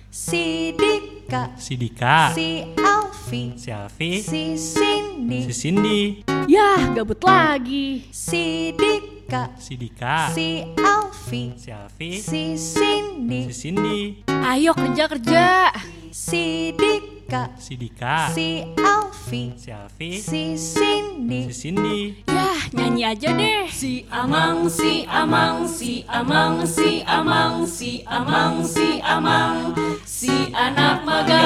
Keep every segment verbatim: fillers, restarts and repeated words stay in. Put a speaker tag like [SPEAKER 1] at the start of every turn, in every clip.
[SPEAKER 1] Si Dika,
[SPEAKER 2] Si Dika,
[SPEAKER 1] si Alfi,
[SPEAKER 2] si Alfi,
[SPEAKER 1] si Cindy,
[SPEAKER 2] si Cindy,
[SPEAKER 3] Yah, gabut lagi.
[SPEAKER 1] si Dika,
[SPEAKER 2] si Dika,
[SPEAKER 1] si Alfi,
[SPEAKER 2] si Alfi,
[SPEAKER 1] si Cindy,
[SPEAKER 2] si Cindy,
[SPEAKER 3] Ayo kerja-kerja.
[SPEAKER 1] si Dika,
[SPEAKER 2] si Dika,
[SPEAKER 1] si Alfi,
[SPEAKER 2] si Alfi,
[SPEAKER 1] si Cindy,
[SPEAKER 2] si Cindy.
[SPEAKER 3] Yah, nyanyi aja deh. Si Amang, si Amang, si Amang, si Amang, si Amang, si Amang, si anak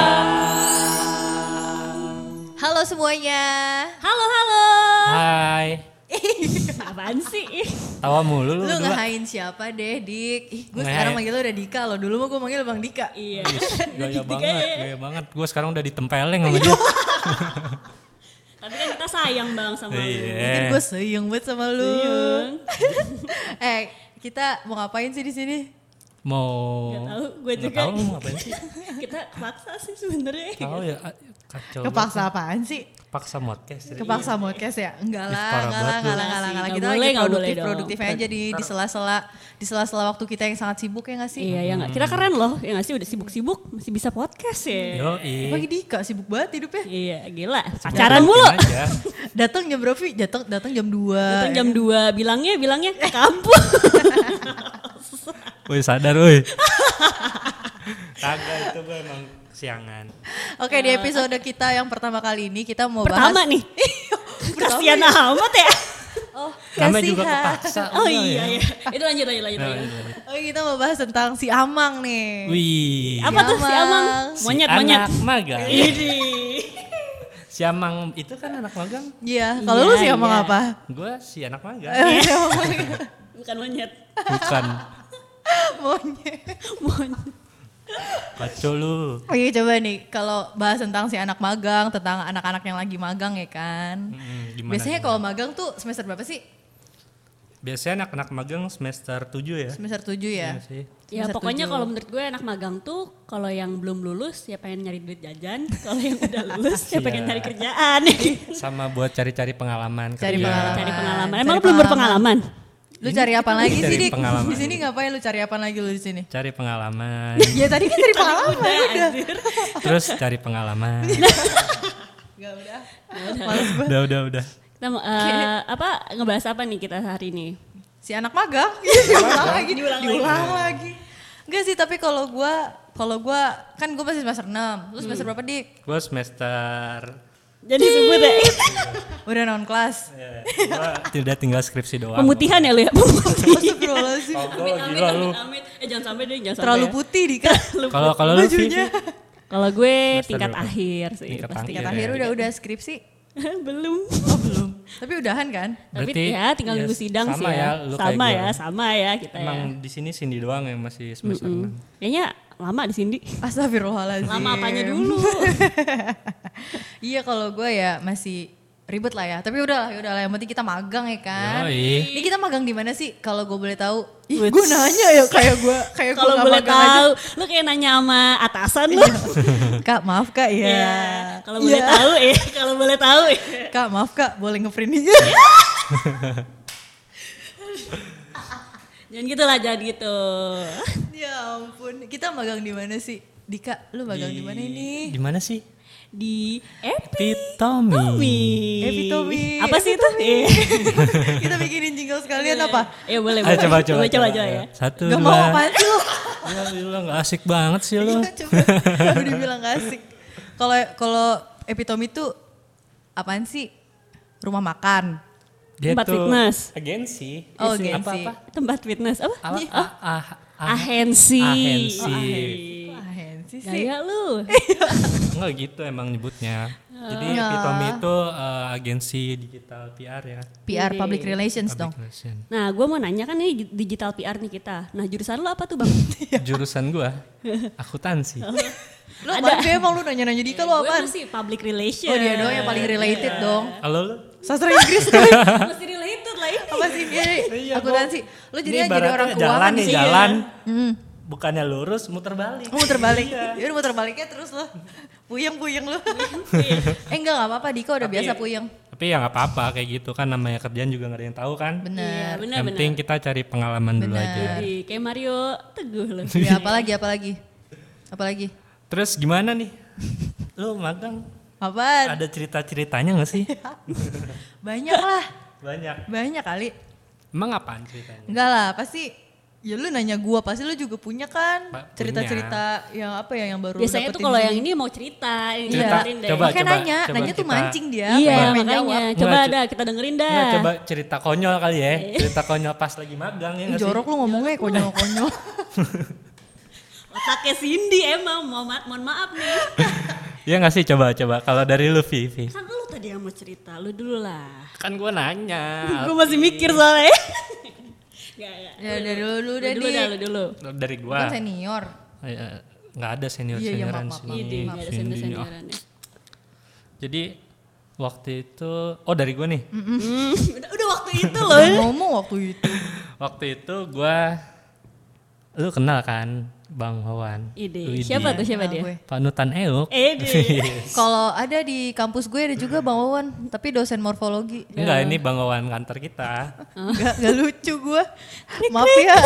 [SPEAKER 3] magang.
[SPEAKER 1] Halo semuanya.
[SPEAKER 3] Halo, halo.
[SPEAKER 2] Hai,
[SPEAKER 3] Apaan sih?
[SPEAKER 2] tawa mulu lu
[SPEAKER 1] Lu
[SPEAKER 2] berdua.
[SPEAKER 1] ngehain siapa deh, Dik? Ih, gue
[SPEAKER 2] Ngehain.
[SPEAKER 1] sekarang manggil lu udah Dika loh. Dulu mah gue manggil Bang Dika.
[SPEAKER 3] Iya.
[SPEAKER 2] Gaya banget, gaya banget. Gue sekarang udah ditempeleng sama dia.
[SPEAKER 3] Tapi kan kita sayang bang sama lu.
[SPEAKER 1] Mungkin
[SPEAKER 2] Iya.
[SPEAKER 1] gue sayang banget sama lu.
[SPEAKER 3] Sayang.
[SPEAKER 1] eh, kita mau ngapain sih di sini?
[SPEAKER 2] Mau
[SPEAKER 3] Gak tahu, gue
[SPEAKER 2] Nggak
[SPEAKER 3] juga.
[SPEAKER 2] tahu lu mau ngapain sih?
[SPEAKER 3] Kita paksa sih sebenarnya.
[SPEAKER 2] Tahu ya, ah, kacau.
[SPEAKER 1] Kepaksa apaan sih?
[SPEAKER 2] Paksa podcast.
[SPEAKER 1] Kepaksa podcast ya? Enggak
[SPEAKER 2] Ih,
[SPEAKER 1] lah,
[SPEAKER 2] parah
[SPEAKER 1] enggak lah,
[SPEAKER 2] banget
[SPEAKER 1] enggak
[SPEAKER 2] lu.
[SPEAKER 1] lah, enggak lah, enggak lah.
[SPEAKER 3] Nggak
[SPEAKER 1] Kita
[SPEAKER 3] boleh,
[SPEAKER 1] lagi
[SPEAKER 3] nggak boleh
[SPEAKER 1] produktif,
[SPEAKER 3] dong.
[SPEAKER 1] produktif aja di di sela-sela di sela-sela waktu kita yang sangat sibuk ya nggak sih?
[SPEAKER 3] Iya ya nggak. Kita keren loh, ya nggak sih udah sibuk-sibuk masih bisa podcast ya.
[SPEAKER 2] Yo,
[SPEAKER 1] Pagi Dika sibuk banget hidupnya.
[SPEAKER 3] Iya gila. Pacaran mulu.
[SPEAKER 2] Aja.
[SPEAKER 1] Datang jam berapa? Vi? Datang datang jam dua.
[SPEAKER 3] Datang jam dua bilangnya bilangnya ke kampus.
[SPEAKER 2] Woi sadar woi. Kagak itu gue emang siangan.
[SPEAKER 1] Oke, di episode kita yang pertama kali ini kita mau
[SPEAKER 3] Pertama
[SPEAKER 1] bahas
[SPEAKER 3] nih. Kasian amat ya.
[SPEAKER 1] Oh,
[SPEAKER 2] Namanya juga
[SPEAKER 1] kasihan.
[SPEAKER 2] kepaksa.
[SPEAKER 3] Oh
[SPEAKER 2] udah
[SPEAKER 3] iya
[SPEAKER 2] ya.
[SPEAKER 3] iya. Itu lanjut lanjut lanjut.
[SPEAKER 2] Nah,
[SPEAKER 3] lanjut.
[SPEAKER 2] itu.
[SPEAKER 1] Oh, kita mau bahas tentang si Amang nih.
[SPEAKER 2] Wih.
[SPEAKER 3] Apa tuh si Amang?
[SPEAKER 2] Si
[SPEAKER 3] Monyet monyet.
[SPEAKER 2] anak magang.
[SPEAKER 3] Ini.
[SPEAKER 2] Si Amang itu kan anak magang.
[SPEAKER 1] Iya, kalau
[SPEAKER 3] Iya,
[SPEAKER 1] lu si Amang
[SPEAKER 3] iya.
[SPEAKER 1] apa?
[SPEAKER 2] Gue si anak magang.
[SPEAKER 1] Eh, si Amang
[SPEAKER 3] Bukan monyet.
[SPEAKER 2] Bukan.
[SPEAKER 1] monyet.
[SPEAKER 3] Monyet.
[SPEAKER 2] Kacau lu.
[SPEAKER 1] Oke, coba nih kalau bahas tentang si anak magang, tentang anak-anak yang lagi magang ya kan.
[SPEAKER 2] Hmm, gimana,
[SPEAKER 1] Biasanya
[SPEAKER 2] gimana?
[SPEAKER 1] kalau magang tuh semester berapa sih?
[SPEAKER 2] Biasanya anak-anak magang semester tujuh ya.
[SPEAKER 1] Semester tujuh ya?
[SPEAKER 2] Iya sih.
[SPEAKER 3] Ya
[SPEAKER 1] Semester
[SPEAKER 3] pokoknya
[SPEAKER 1] tujuh.
[SPEAKER 3] kalau menurut gue anak magang tuh kalau yang belum lulus ya pengen nyari duit jajan, kalau yang udah lulus ya pengen
[SPEAKER 2] Iya.
[SPEAKER 3] cari kerjaan.
[SPEAKER 2] Sama buat cari-cari pengalaman
[SPEAKER 1] Cari
[SPEAKER 2] kerja.
[SPEAKER 1] pengalaman.
[SPEAKER 3] Cari pengalaman.
[SPEAKER 1] Cari
[SPEAKER 3] Emang lu belum berpengalaman?
[SPEAKER 1] Lu cari apa lagi
[SPEAKER 2] cari
[SPEAKER 1] sih, Dik?
[SPEAKER 2] pengalaman.
[SPEAKER 1] Di sini ngapain lu cari apa lagi lu di sini?
[SPEAKER 2] Cari pengalaman.
[SPEAKER 1] Ya tadi kan cari pengalaman udah.
[SPEAKER 2] Terus cari pengalaman.
[SPEAKER 1] Enggak udah.
[SPEAKER 2] udah, udah, udah.
[SPEAKER 3] Kita mau eh, apa ngebahas apa nih kita hari ini?
[SPEAKER 1] Si anak magang. Iya, diulang lagi, diulang, diulang lagi. Enggak sih, tapi kalau gua kalau gua kan gua masih semester enam. Lu semester berapa, Dik?
[SPEAKER 2] Gue semester.
[SPEAKER 3] Jadi sebut deh.
[SPEAKER 1] Udah non kelas.
[SPEAKER 2] Ya, gue tidak tinggal skripsi doang.
[SPEAKER 3] Pemutihan ya lu ya, pemutih.
[SPEAKER 1] Astagfirullahaladzim.
[SPEAKER 2] Kagak, gila lu.
[SPEAKER 3] Amit. Eh jangan sampai deh, jangan
[SPEAKER 1] Terlalu
[SPEAKER 3] sampai.
[SPEAKER 1] putih, Dika.
[SPEAKER 2] Kalau kalau lu sih
[SPEAKER 1] Bajunya.
[SPEAKER 3] Kalau gue
[SPEAKER 2] Semester
[SPEAKER 3] tingkat
[SPEAKER 2] berapa?
[SPEAKER 3] akhir sih.
[SPEAKER 2] Tingkat
[SPEAKER 3] pasti.
[SPEAKER 1] Tingkat
[SPEAKER 2] Iya,
[SPEAKER 1] akhir
[SPEAKER 2] iya.
[SPEAKER 1] udah udah skripsi.
[SPEAKER 3] Belum.
[SPEAKER 1] Oh, belum. Tapi udahan kan?
[SPEAKER 3] Tapi
[SPEAKER 2] Berarti
[SPEAKER 3] ya tinggal
[SPEAKER 2] ya
[SPEAKER 3] nunggu sidang
[SPEAKER 2] sama
[SPEAKER 3] sih ya.
[SPEAKER 2] ya, lu kayak
[SPEAKER 3] sama
[SPEAKER 2] gua.
[SPEAKER 3] ya, sama ya kita
[SPEAKER 2] emang
[SPEAKER 3] ya.
[SPEAKER 2] di sini Cindy doang yang masih semester enam.
[SPEAKER 3] Kayaknya lama di sini.
[SPEAKER 1] Astagfirullahaladzim.
[SPEAKER 3] Lama apanya dulu?
[SPEAKER 1] Iya, kalau gue ya masih ribet lah ya. Tapi udah lah, udah lah. Yang penting kita magang ya kan.
[SPEAKER 2] Yoi.
[SPEAKER 1] Ini kita magang di mana sih? Kalau gue boleh tahu. Ih, gue nanya ya kayak gue kayak gue
[SPEAKER 3] Kalau
[SPEAKER 1] nggak
[SPEAKER 3] boleh
[SPEAKER 1] magang aja.
[SPEAKER 3] tahu, lu kayak nanya sama atasan lu.
[SPEAKER 1] Kak, maaf Kak ya.
[SPEAKER 3] Ya, kalau boleh
[SPEAKER 1] Iya.
[SPEAKER 3] tahu ya, kalau boleh tahu ya.
[SPEAKER 1] Kak, maaf Kak, boleh nge-print ini?
[SPEAKER 3] Jangan gitu lah, jangan gitu.
[SPEAKER 1] Ya ampun. Kita magang di mana sih? Dika, lu magang di mana ini?
[SPEAKER 2] Di mana sih?
[SPEAKER 3] Di
[SPEAKER 2] Epitomi.
[SPEAKER 3] Epitomi.
[SPEAKER 1] Epitomi.
[SPEAKER 3] Apa sih itu? Eh,
[SPEAKER 1] Kita bikinin jingle sekalian apa?
[SPEAKER 3] Ya boleh,
[SPEAKER 2] Ayo
[SPEAKER 3] boleh.
[SPEAKER 2] coba coba
[SPEAKER 3] coba, coba, coba ya.
[SPEAKER 2] Satu
[SPEAKER 1] Gak
[SPEAKER 2] dua.
[SPEAKER 1] mau apaan sih lu?
[SPEAKER 2] Ya lu gak asik banget sih lu.
[SPEAKER 1] Coba, udah dibilang gak asik. Kalau kalau epitomi itu apaan sih? Rumah makan.
[SPEAKER 2] Dia
[SPEAKER 3] Tempat
[SPEAKER 2] tuh
[SPEAKER 3] fitness.
[SPEAKER 2] Agensi.
[SPEAKER 1] Oh,
[SPEAKER 2] Isi-
[SPEAKER 1] agensi.
[SPEAKER 2] Apa-apa?
[SPEAKER 3] Tempat fitness apa?
[SPEAKER 2] Apa?
[SPEAKER 3] Ih,
[SPEAKER 2] Ah, ah, ah,
[SPEAKER 3] Ahensi.
[SPEAKER 2] Ahensi.
[SPEAKER 3] Oh,
[SPEAKER 1] Ahensi sih.
[SPEAKER 3] Gaya lu.
[SPEAKER 2] Enggak gitu emang nyebutnya. Jadi
[SPEAKER 1] Ya.
[SPEAKER 2] Epitomi itu eh, agensi digital P R ya.
[SPEAKER 1] P R Public Relations dong.
[SPEAKER 2] Public relation.
[SPEAKER 3] Nah, gue mau nanya kan ini digital P R nih kita. Nah, jurusan lu apa tuh, Bang?
[SPEAKER 2] Jurusan gua akuntansi.
[SPEAKER 1] Lu apaan sih emang lu nanya-nanya Dika lu
[SPEAKER 3] Gue
[SPEAKER 1] apaan?
[SPEAKER 3] masih public relation.
[SPEAKER 1] Oh dia doang yang paling related dong.
[SPEAKER 2] Halo lu?
[SPEAKER 1] Sastra Inggris tuh.
[SPEAKER 3] Masih related lah ini.
[SPEAKER 1] Apa sih? Iya,
[SPEAKER 2] Iya,
[SPEAKER 1] akuntansi. Lu
[SPEAKER 2] Ini
[SPEAKER 1] jadinya jadi
[SPEAKER 2] ibaratnya
[SPEAKER 1] orang
[SPEAKER 2] jalan
[SPEAKER 1] keuangan
[SPEAKER 2] nih
[SPEAKER 1] sih.
[SPEAKER 2] jalan.
[SPEAKER 1] Hmm.
[SPEAKER 2] Bukannya lurus muter balik.
[SPEAKER 1] Lu muter balik. Ya udah muter baliknya terus lu. Puyeng-puyeng lu. eh enggak enggak apa-apa Dika udah
[SPEAKER 2] Tapi-
[SPEAKER 1] biasa puyeng.
[SPEAKER 2] Tapi ya nggak apa-apa kayak gitu kan namanya kerjaan juga nggak ada yang tahu kan.
[SPEAKER 3] Iya,
[SPEAKER 1] Bener.
[SPEAKER 3] benar
[SPEAKER 2] Yang
[SPEAKER 3] benar.
[SPEAKER 2] penting kita cari pengalaman dulu
[SPEAKER 1] Bener.
[SPEAKER 2] aja.
[SPEAKER 3] Jadi, kayak Mario Teguh loh.
[SPEAKER 1] Ya apalagi apalagi. Apalagi?
[SPEAKER 2] Terus gimana nih? Lu magang
[SPEAKER 1] Apaan?
[SPEAKER 2] ada cerita-ceritanya gak sih?
[SPEAKER 1] Banyak lah.
[SPEAKER 2] Banyak.
[SPEAKER 1] Banyak kali.
[SPEAKER 2] Emang apaan ceritanya?
[SPEAKER 1] Enggak lah, pasti ya lu nanya gua, pasti lu juga punya kan
[SPEAKER 2] Pa-
[SPEAKER 1] cerita-cerita yang apa ya yang baru
[SPEAKER 3] Biasanya tuh
[SPEAKER 1] dapetin
[SPEAKER 3] kalau
[SPEAKER 1] sini.
[SPEAKER 3] yang ini mau cerita, yang
[SPEAKER 1] Iya.
[SPEAKER 3] dengerin deh.
[SPEAKER 2] Coba,
[SPEAKER 1] Makanya
[SPEAKER 2] coba,
[SPEAKER 1] nanya,
[SPEAKER 2] coba
[SPEAKER 1] nanya tuh
[SPEAKER 2] kita-
[SPEAKER 1] mancing dia.
[SPEAKER 3] Iya
[SPEAKER 1] pengen
[SPEAKER 3] makanya,
[SPEAKER 1] jawab.
[SPEAKER 3] coba
[SPEAKER 2] Nggak,
[SPEAKER 3] dah kita dengerin dah.
[SPEAKER 2] Nggak, coba cerita konyol kali ya. Cerita konyol pas lagi magang ya
[SPEAKER 1] Ih,
[SPEAKER 2] nggak sih?
[SPEAKER 1] jorok lu ngomongnya konyol-konyol.
[SPEAKER 3] Otaknya Cindy emang, mau ma- mohon maaf nih.
[SPEAKER 2] Iya nggak sih, coba coba kalau dari lu Vivi.
[SPEAKER 3] Kan lu tadi yang mau cerita, lu dulu lah.
[SPEAKER 2] Kan gue nanya.
[SPEAKER 3] Gue masih mikir soalnya. Gak, gak.
[SPEAKER 1] Ya dari lu dulu deh,
[SPEAKER 3] Lu dulu
[SPEAKER 1] Dik.
[SPEAKER 3] dah, lu dulu.
[SPEAKER 2] Dari
[SPEAKER 1] Lu
[SPEAKER 2] gua.
[SPEAKER 1] kan senior.
[SPEAKER 2] Iya, nggak ada senior
[SPEAKER 1] Iya, iya,
[SPEAKER 2] senioran
[SPEAKER 1] maaf, maaf,
[SPEAKER 2] sini.
[SPEAKER 3] Ide, gak ada
[SPEAKER 2] Cindy. Oh.
[SPEAKER 3] senior-seniorannya.
[SPEAKER 2] Jadi waktu itu, oh dari gue nih.
[SPEAKER 3] Hmm, udah, udah waktu itu loh.
[SPEAKER 1] Lu ngomong waktu itu.
[SPEAKER 2] Waktu itu gue, lu kenal kan Bang Wawan?
[SPEAKER 3] Ide,
[SPEAKER 2] Widih.
[SPEAKER 3] siapa tuh siapa
[SPEAKER 1] Nah,
[SPEAKER 3] dia?
[SPEAKER 1] gue.
[SPEAKER 2] Panutan Euk.
[SPEAKER 3] Ede.
[SPEAKER 1] Kalau ada di kampus gue ada juga Bang Wawan, tapi dosen morfologi.
[SPEAKER 2] Enggak, ini Bang Wawan kantor kita.
[SPEAKER 1] Enggak, enggak lucu gue. Maaf ya.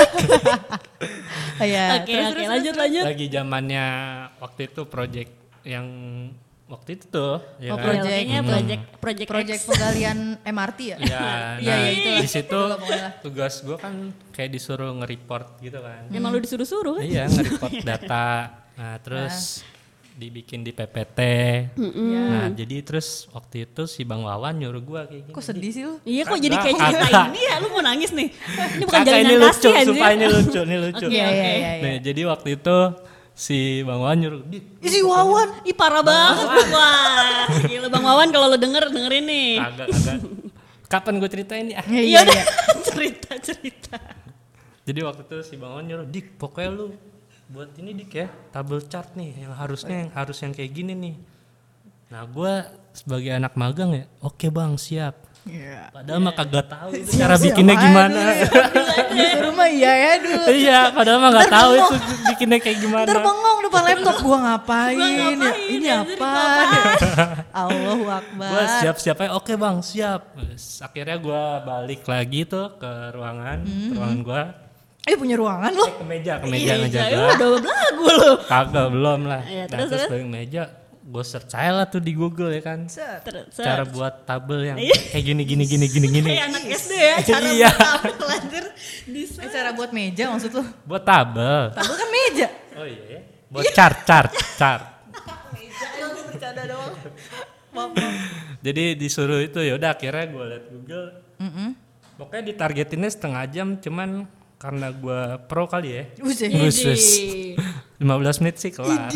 [SPEAKER 1] Ya,
[SPEAKER 3] Oke
[SPEAKER 1] terus,
[SPEAKER 3] oke
[SPEAKER 1] terus,
[SPEAKER 3] lanjut
[SPEAKER 1] terus.
[SPEAKER 3] lanjut.
[SPEAKER 2] Lagi zamannya waktu itu project yang waktu itu tuh. Ya
[SPEAKER 1] Oh,
[SPEAKER 2] kan?
[SPEAKER 1] project.
[SPEAKER 3] Kayaknya
[SPEAKER 1] Hmm.
[SPEAKER 3] project project
[SPEAKER 1] Project
[SPEAKER 3] X.
[SPEAKER 1] penggalian M R T ya?
[SPEAKER 2] Iya,
[SPEAKER 1] Iya,
[SPEAKER 2] nah,
[SPEAKER 1] iya, itu lah.
[SPEAKER 2] di situ
[SPEAKER 1] Itu lah pokoknya.
[SPEAKER 2] tugas gue kan kayak disuruh nge-report gitu kan.
[SPEAKER 3] Emang lu disuruh-suruh kan?
[SPEAKER 2] Iya, nge-report data. Nah, terus dibikin di P P T.
[SPEAKER 1] Iya.
[SPEAKER 2] Nah, jadi terus waktu itu si Bang Wawan nyuruh gue kayak gini.
[SPEAKER 1] Kok sedih sih lu?
[SPEAKER 3] Iya kok jadi
[SPEAKER 2] Kagak,
[SPEAKER 3] kayak cerita
[SPEAKER 2] kagak.
[SPEAKER 3] ini ya, lu mau nangis nih. Ini bukan
[SPEAKER 2] Kakak ini
[SPEAKER 3] jalinan
[SPEAKER 2] lucu,
[SPEAKER 3] kasih anjir.
[SPEAKER 2] supaya ini lucu, ini lucu.
[SPEAKER 3] Oke,
[SPEAKER 1] Iya,
[SPEAKER 3] oke.
[SPEAKER 1] iya, iya.
[SPEAKER 2] Nah, jadi waktu itu si Bang Wawan nyuruh, "Dik,
[SPEAKER 1] Isi Wawan.
[SPEAKER 3] Ih parah banget. Wah, gila Bang Wawan kalau lu denger dengerin nih.
[SPEAKER 2] kagak, kagak. Kapan gue ceritain nih? Ah.
[SPEAKER 1] Iya,
[SPEAKER 3] Iya
[SPEAKER 1] iya,
[SPEAKER 3] udah
[SPEAKER 1] iya.
[SPEAKER 3] cerita cerita.
[SPEAKER 2] Jadi waktu itu si Bang Wawan nyuruh, "Dik, pokoknya lu buat ini Dik ya, tabel chart nih yang harusnya yang harus yang kayak gini nih." Nah, gue sebagai anak magang ya, "Oke Bang, siap."
[SPEAKER 1] Iya.
[SPEAKER 2] Padahal mah kagak tahu itu cara bikinnya gimana.
[SPEAKER 1] Disuruh mah iya ya dulu.
[SPEAKER 2] Iya, padahal mah nggak tahu itu bikinnya kayak gimana.
[SPEAKER 1] Ntar bengong depan laptop gua ngapain,
[SPEAKER 3] Gua
[SPEAKER 1] ya?
[SPEAKER 3] ngapain,
[SPEAKER 1] Ini
[SPEAKER 3] ya,
[SPEAKER 1] apa? Allahu Akbar.
[SPEAKER 2] Gue siap-siap aja, oke Bang, siap. Terus akhirnya gue balik lagi tuh ke ruangan, ke ruangan gue.
[SPEAKER 1] Eh punya ruangan loh.
[SPEAKER 2] Eh, ke meja, ke meja, meja
[SPEAKER 3] Iya,
[SPEAKER 2] gue.
[SPEAKER 3] udah belagu lu.
[SPEAKER 2] Kagak, belum lah.
[SPEAKER 3] Iya,
[SPEAKER 2] Nah,
[SPEAKER 3] terus,
[SPEAKER 2] terus
[SPEAKER 3] terus?
[SPEAKER 2] balik meja, gue search aja lah tuh di Google ya kan.
[SPEAKER 1] Set.
[SPEAKER 3] Terus,
[SPEAKER 2] Cara buat tabel yang
[SPEAKER 3] Iya.
[SPEAKER 2] kayak gini, gini, gini, gini, gini.
[SPEAKER 3] kayak anak S D ya, cara
[SPEAKER 2] Iya.
[SPEAKER 3] buat tabel anjir. Bisa.
[SPEAKER 1] Eh, cara buat meja maksud lu?
[SPEAKER 2] Buat tabel.
[SPEAKER 1] Tabel kan meja.
[SPEAKER 2] Oh iya ya. Buat chart, chart, chart.
[SPEAKER 1] Bercanda doang. Maaf, maaf.
[SPEAKER 2] Jadi disuruh itu ya udah akhirnya gue liat Google.
[SPEAKER 1] Mm-mm.
[SPEAKER 2] Pokoknya ditargetinnya setengah jam, cuman karena gue pro kali ya.
[SPEAKER 1] Buset.
[SPEAKER 2] Khusus lima belas menit sih kelar.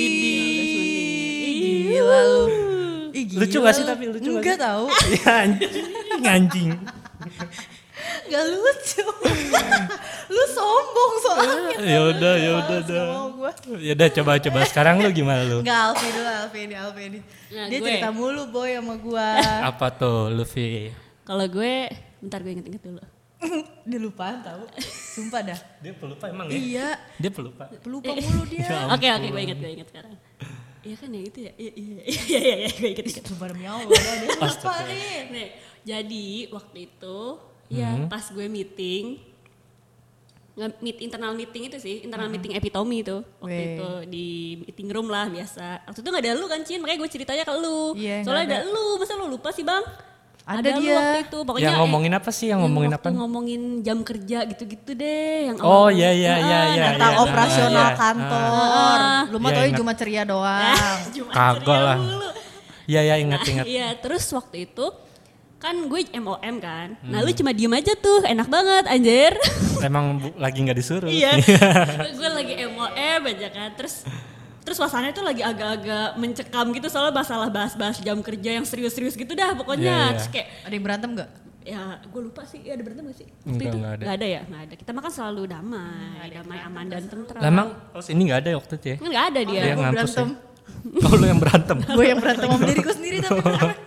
[SPEAKER 1] Ih, gila lu. Ih, gila
[SPEAKER 2] Lucu gak sih
[SPEAKER 1] lu.
[SPEAKER 2] tapi lucu gak
[SPEAKER 1] Enggak
[SPEAKER 2] sih?
[SPEAKER 1] tahu.
[SPEAKER 2] Iya, anjing, anjing.
[SPEAKER 1] Gak lucu. Lu sombong soalnya.
[SPEAKER 2] Ya udah, ya udah,
[SPEAKER 1] Males,
[SPEAKER 2] dah.
[SPEAKER 1] gak mau gua.
[SPEAKER 2] Ya udah coba-coba sekarang lu gimana lu?
[SPEAKER 1] Enggak, Alfi dulu, Alfi ini, Alfi ini.
[SPEAKER 3] Nah,
[SPEAKER 1] Dia
[SPEAKER 3] gue.
[SPEAKER 1] cerita mulu boy sama gua.
[SPEAKER 2] Apa tuh Luffy?
[SPEAKER 3] Kalau gue, bentar gue inget-inget dulu.
[SPEAKER 1] Dia lupaan tahu. Sumpah dah.
[SPEAKER 2] Dia pelupa emang ya?
[SPEAKER 1] Iya,
[SPEAKER 2] Dia pelupa.
[SPEAKER 1] pelupa mulu dia.
[SPEAKER 3] Oke oke gue inget gue inget sekarang. Iya kan ya itu ya. Iya iya iya iya iya gue inget inget.
[SPEAKER 1] Sumpah demi Allah, dia lupa nih.
[SPEAKER 3] Nih, jadi waktu itu ya pas gue meeting nge- meet internal meeting itu sih, internal meeting epitomi itu waktu
[SPEAKER 1] Weh.
[SPEAKER 3] itu di meeting room lah biasa. Waktu itu gak ada lu kan Cin, makanya gue ceritanya ke lu.
[SPEAKER 1] Iya,
[SPEAKER 3] Soalnya
[SPEAKER 1] nggak
[SPEAKER 3] ada lu, masa lu lupa sih bang?
[SPEAKER 1] Ada
[SPEAKER 3] lu
[SPEAKER 1] dia.
[SPEAKER 3] waktu itu, pokoknya
[SPEAKER 2] Yang ngomongin apa sih? Yang ngomongin
[SPEAKER 3] waktu
[SPEAKER 2] apa?
[SPEAKER 3] ngomongin jam kerja gitu-gitu deh. Yang
[SPEAKER 2] Oh
[SPEAKER 3] awal-
[SPEAKER 2] iya iya iya
[SPEAKER 3] Ah,
[SPEAKER 2] iya.
[SPEAKER 1] Tentang
[SPEAKER 2] iya,
[SPEAKER 1] operasional
[SPEAKER 2] iya.
[SPEAKER 1] kantor.
[SPEAKER 3] Ah.
[SPEAKER 1] Lu mah
[SPEAKER 2] Iya,
[SPEAKER 1] tau
[SPEAKER 2] ingat.
[SPEAKER 1] cuma ceria doang.
[SPEAKER 3] Cuma
[SPEAKER 2] Kagak
[SPEAKER 3] ceria
[SPEAKER 2] lah.
[SPEAKER 3] mulu.
[SPEAKER 2] Iya iya ingat ingat.
[SPEAKER 3] Iya, terus waktu itu kan gue M O M kan. Nah,
[SPEAKER 2] Hmm.
[SPEAKER 3] lu cuma diem aja tuh, enak banget anjir.
[SPEAKER 2] Emang bu- lagi nggak disuruh.
[SPEAKER 3] Iya. Gue lagi M O M aja kan. Terus terus suasananya tuh lagi agak-agak mencekam gitu soalnya masalah bahas-bahas jam kerja yang serius-serius gitu dah pokoknya.
[SPEAKER 2] Iya, iya.
[SPEAKER 3] Terus kayak
[SPEAKER 1] Ada yang berantem gak?
[SPEAKER 3] ya gue lupa sih, ya ada berantem gak sih? Waktu
[SPEAKER 2] Enggak,
[SPEAKER 3] itu
[SPEAKER 2] enggak ada.
[SPEAKER 3] Nggak ada ya? Nggak ada. Kita makan selalu damai, damai, aman dan tentram.
[SPEAKER 2] Lah, emang oh ini nggak ada ya waktu itu ya?
[SPEAKER 3] Kan nggak ada dia.
[SPEAKER 2] Dia
[SPEAKER 1] Gua
[SPEAKER 2] ngampus
[SPEAKER 1] berantem.
[SPEAKER 2] ya? Oh lu yang berantem.
[SPEAKER 1] Gue yang berantem sama diriku sendiri tapi